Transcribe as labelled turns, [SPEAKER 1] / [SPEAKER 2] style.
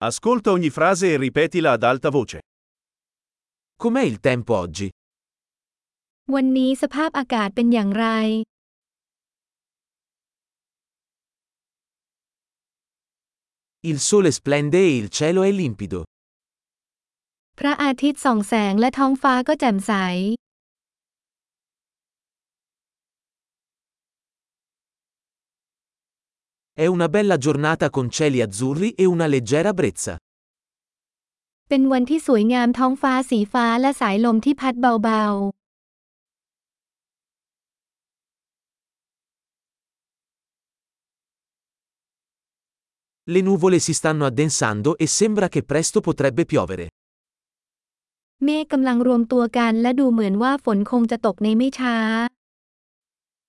[SPEAKER 1] Ascolta ogni frase e ripetila ad alta voce.
[SPEAKER 2] Com'è il tempo oggi?
[SPEAKER 3] วันนี้สภาพอากาศเป็นอย่างไร
[SPEAKER 2] Il sole splende e il cielo è limpido.
[SPEAKER 3] พระอาทิตย์ส่องแสงและท้องฟ้าก็แจ่มใส
[SPEAKER 2] È una bella giornata con cieli azzurri e una leggera brezza.
[SPEAKER 3] เป็นวันที่สวยงามท้องฟ้าสีฟ้าและสายลมที่พัดเบา
[SPEAKER 2] Le nuvole si stanno addensando e sembra che presto potrebbe piovere.
[SPEAKER 3] ๆ เมฆกำลังรวมตัวกันและดูเหมือนว่าฝนคงจะตกในไม่ช้า